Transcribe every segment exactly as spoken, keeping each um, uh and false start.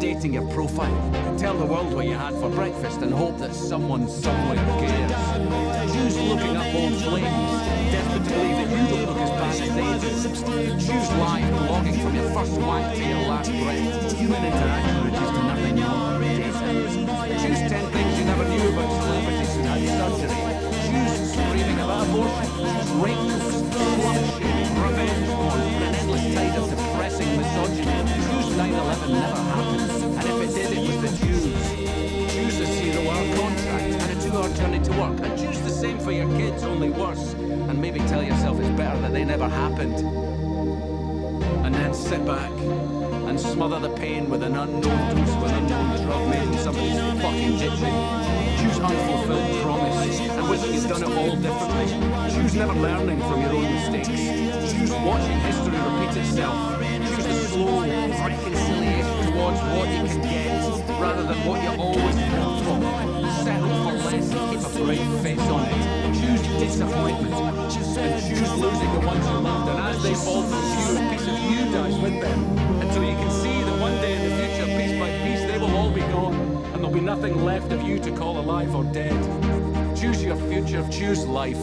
updating your profile. Tell the world what you had for breakfast and hope that someone somewhere cares. Choose looking up old flames, desperate to believe that you don't look as bad as they do. Choose live blogging from your first wank to your last breath. Human interaction reduced to nothing more. Choose ten things you never knew about celebrities who had surgery. Choose screaming about abortion. Choose rape, slut shaming, revenge porn, an endless tide of depressing misogyny. Choose nine eleven never happened, and if it did, it was the Jews. Choose a zero-hour contract and a two-hour journey to work, and choose the same for your kids, only worse. And maybe tell yourself it's better that they never happened. And then sit back and smother the pain with an unknown dose of an unknown drug made in somebody's fucking kitchen. Choose unfulfilled promise and wish you'd done it all differently. Choose never learning from your own mistakes. Choose watching history repeat itself. Choose the slow reconciliation towards what you can get rather than what you always want from. Settle for less and keep a brave face on it. Choose disappointment and choose losing the ones you loved, and as they fall from you, a piece of you dies with them. Until you can see that one day in the future, piece by piece, they will all be gone, and there'll be nothing left of you to call alive or dead. Choose your future, choose life.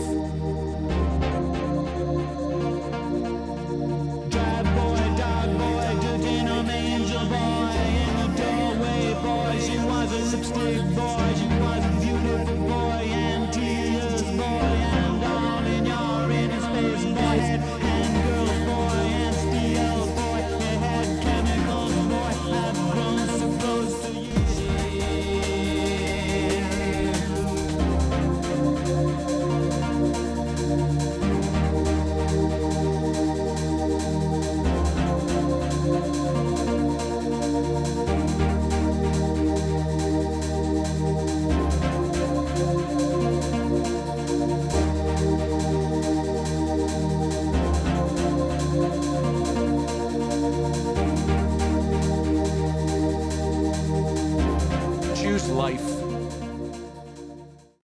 Dog boy, dog boy, good in a angel boy, in the doorway boy, she was a lipstick boy, she was a beautiful boy, and tears boy, and down in your inner space boys, and girls boy, and steel boy, and had chemicals boy, have grown so close to you. Choose life.